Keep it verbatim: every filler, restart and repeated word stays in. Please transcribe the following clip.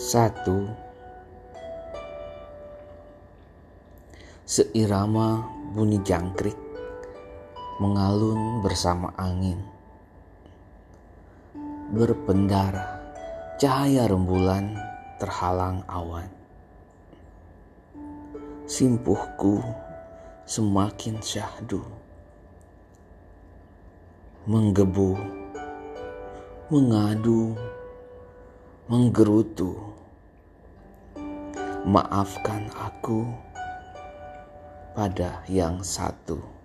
Satu, seirama bunyi jangkrik mengalun bersama angin, berpendar cahaya rembulan terhalang awan. Simpuhku semakin syahdu, menggebu, mengadu, menggerutu. Maafkan aku pada yang satu.